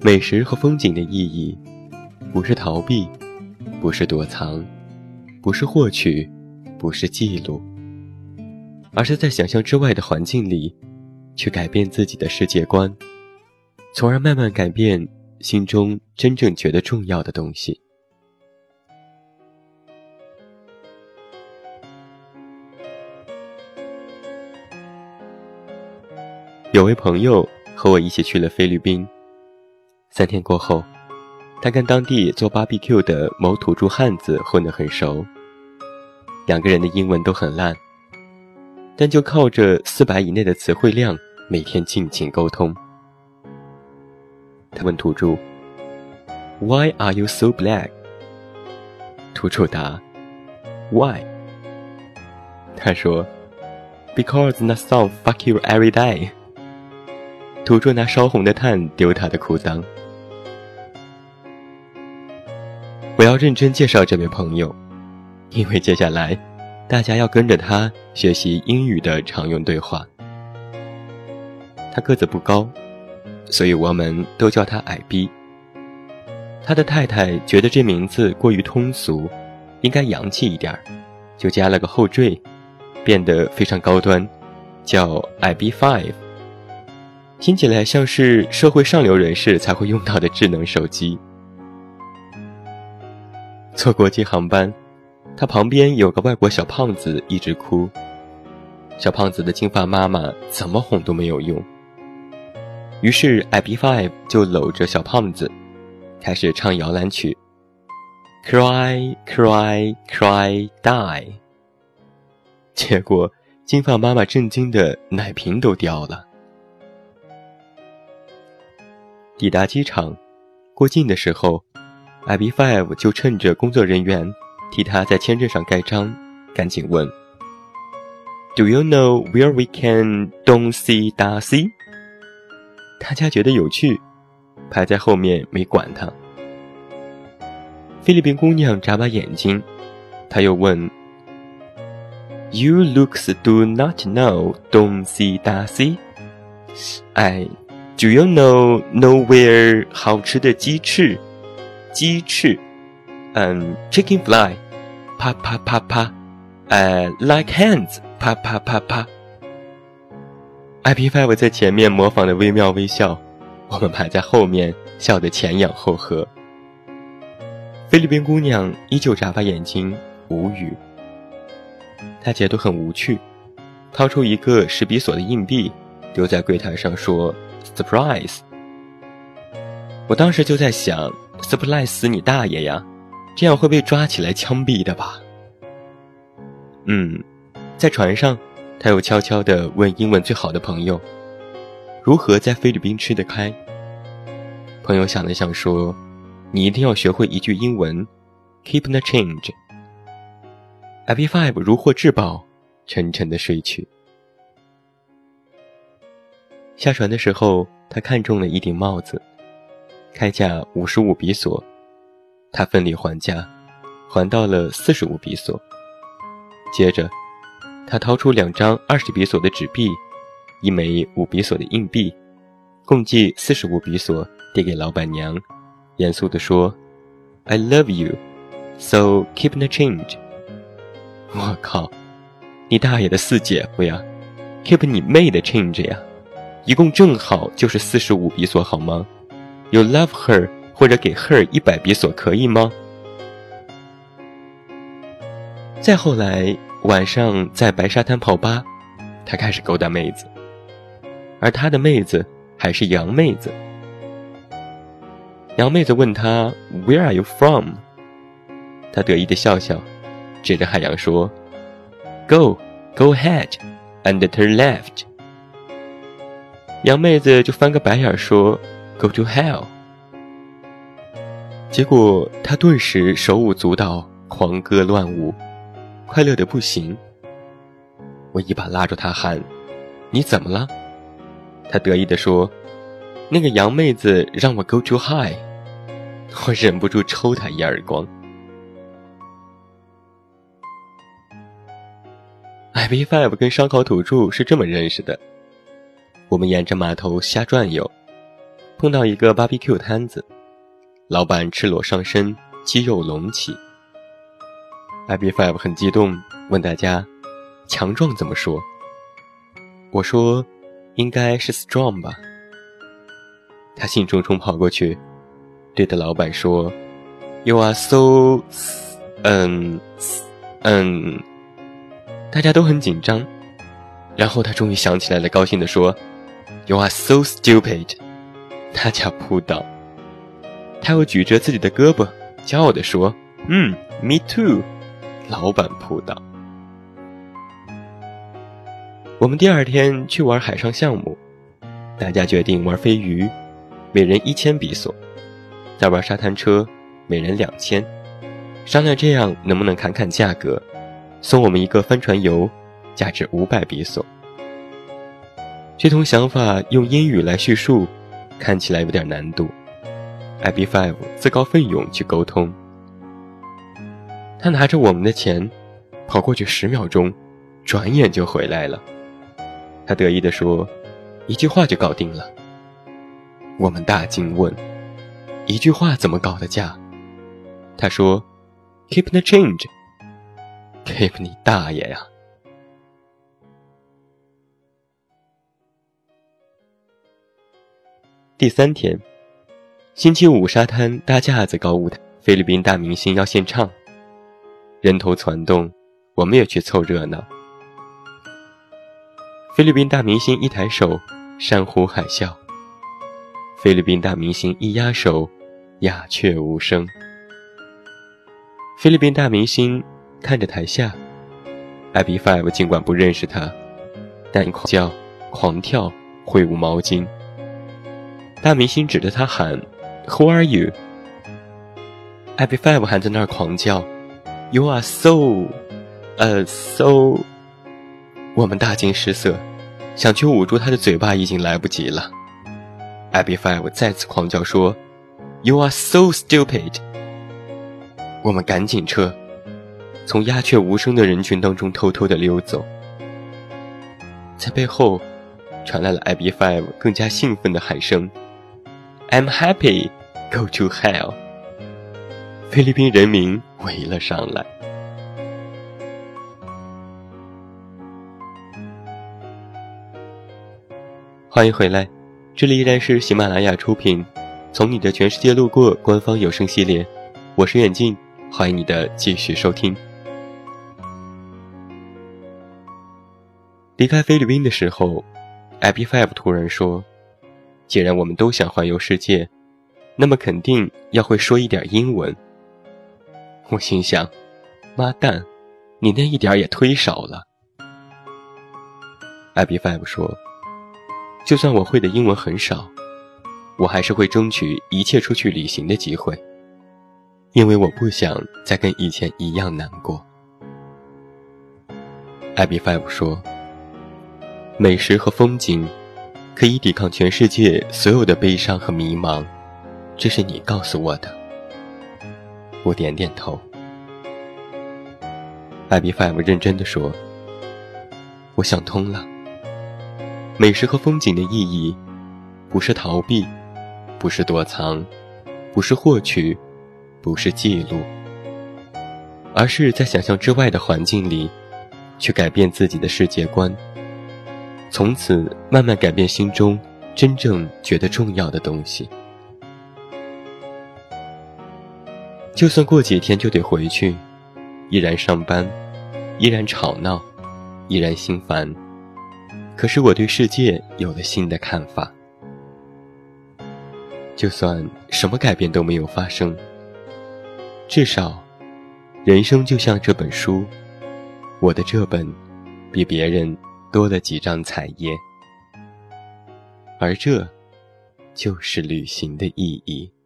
美食和风景的意义，不是逃避，不是躲藏，不是获取，不是记录，而是在想象之外的环境里，去改变自己的世界观，从而慢慢改变心中真正觉得重要的东西。有位朋友和我一起去了菲律宾，3天过后，他跟当地做 BBQ 的某土著汉子混得很熟，2个人的英文都很烂，但就靠着400以内的词汇量，每天尽情沟通。他问土著 Why are you so black？ 土著答 Why？ 他说 Because that song fuck you every day。 土著拿烧红的炭丢他的裤裆。我要认真介绍这位朋友，因为接下来大家要跟着他学习英语的常用对话。他个子不高，所以我们都叫他矮逼。他的太太觉得这名字过于通俗，应该洋气一点，就加了个后缀，变得非常高端，叫矮逼 5， 听起来像是社会上流人士才会用到的智能手机。坐国际航班，他旁边有个外国小胖子一直哭，小胖子的金发妈妈怎么哄都没有用，于是 IB5 就搂着小胖子开始唱摇篮曲 Cry Cry Cry Die， 结果金发妈妈震惊的奶瓶都掉了。抵达机场过境的时候， IB5 就趁着工作人员替他在签证上盖章，赶紧问 Do you know where we can don't see Darcy？ 大家觉得有趣，排在后面没管他。菲律宾姑娘眨巴眼睛，她又问 You looks do not know don't see Darcy？ Do you know nowhere 好吃的鸡翅Chicken fly 啪啪啪啪like hands 啪啪啪啪。 IP5 在前面模仿的微妙微笑，我们排在后面笑得前仰后合。菲律宾姑娘依旧眨巴眼睛无语，她觉得很无趣，掏出一个10比索的硬币丢在柜台上说 Surprise。 我当时就在想 Surprise 死你大爷呀，这样会被抓起来枪毙的吧。在船上他又悄悄地问英文最好的朋友如何在菲律宾吃得开。朋友想了想说，你一定要学会一句英文 Keep the change。 IP5 如获至宝，沉沉地睡去。下船的时候，他看中了一顶帽子，开价55比索，他奋力还价，还到了45比索。接着他掏出2张20比索的纸币，1枚5比索的硬币，共计45比索递给老板娘，严肃地说 I love you, so keep the change。 我靠，你大爷的4姐夫呀， keep 你妹的 change 呀，一共正好就是45比索好吗？ You love her 或者给 her 100比索可以吗？再后来晚上在白沙滩泡吧，他开始勾搭妹子，而他的妹子还是洋妹子。洋妹子问他 Where are you from？ 他得意地笑笑，指着海洋说 Go ahead and turn left。 洋妹子就翻个白眼说 Go to hell。 结果他顿时手舞足蹈，狂歌乱舞，快乐得不行。我一把拉住他喊，你怎么了？他得意地说，那个洋妹子让我 go too high。 我忍不住抽他一耳光。IB5 跟烧烤土著是这么认识的。我们沿着码头瞎转悠， 碰到一个 BBQ 摊子，老板赤裸上身，肌肉隆起。IB5 很激动，问大家强壮怎么说？我说应该是 strong 吧。他兴冲冲跑过去，对着老板说 You are so 大家都很紧张，然后他终于想起来了，高兴地说 You are so stupid。 大家扑倒。他又举着自己的胳膊骄傲地说me too。老板扑倒。我们第二天去玩海上项目，大家决定玩飞鱼，每人1000比索，再玩沙滩车，每人2000，商量这样能不能砍砍价格，送我们一个帆船游，价值500比索。这通想法用英语来叙述，看起来有点难度。IB5 自告奋勇去沟通。他拿着我们的钱，跑过去10秒钟，转眼就回来了。他得意地说，1句话就搞定了。我们大惊问，1句话怎么搞的价？他说 Keep the change。 Keep 你大爷呀！第3天，星期五沙滩搭架子搞舞台，菲律宾大明星要献唱，人头攒动，我们也去凑热闹。菲律宾大明星一抬手，山呼海啸；菲律宾大明星一压手，鸦雀无声。菲律宾大明星看着台下 IB5 尽管不认识他，但狂叫狂跳，挥舞毛巾。大明星指着他喊 Who are you？ IB5 还在那儿狂叫 You are so 我们大惊失色，想去捂住他的嘴巴已经来不及了。IB5 再次狂叫说 You are so stupid。 我们赶紧撤，从鸦雀无声的人群当中偷偷地溜走。在背后传来了 IB5 更加兴奋的喊声 I'm happy, go to hell。 菲律宾人民围了上来。欢迎回来，这里依然是喜马拉雅出品从你的全世界路过官方有声系列，我是远近，欢迎你的继续收听。离开菲律宾的时候， IB5 突然说，既然我们都想环游世界，那么肯定要会说一点英文。我心想，妈蛋，你那一点也忒少了。 IB5 说，就算我会的英文很少，我还是会争取一切出去旅行的机会，因为我不想再跟以前一样难过。 IB5 说，美食和风景可以抵抗全世界所有的悲伤和迷茫，这是你告诉我的。我点点头。 IB5 认真地说，我想通了，美食和风景的意义不是逃避，不是躲藏，不是获取，不是记录，而是在想象之外的环境里去改变自己的世界观，从此慢慢改变心中真正觉得重要的东西。就算过几天就得回去，依然上班，依然吵闹，依然心烦，可是我对世界有了新的看法。就算什么改变都没有发生，至少人生就像这本书，我的这本比别人多了几张彩页，而这就是旅行的意义。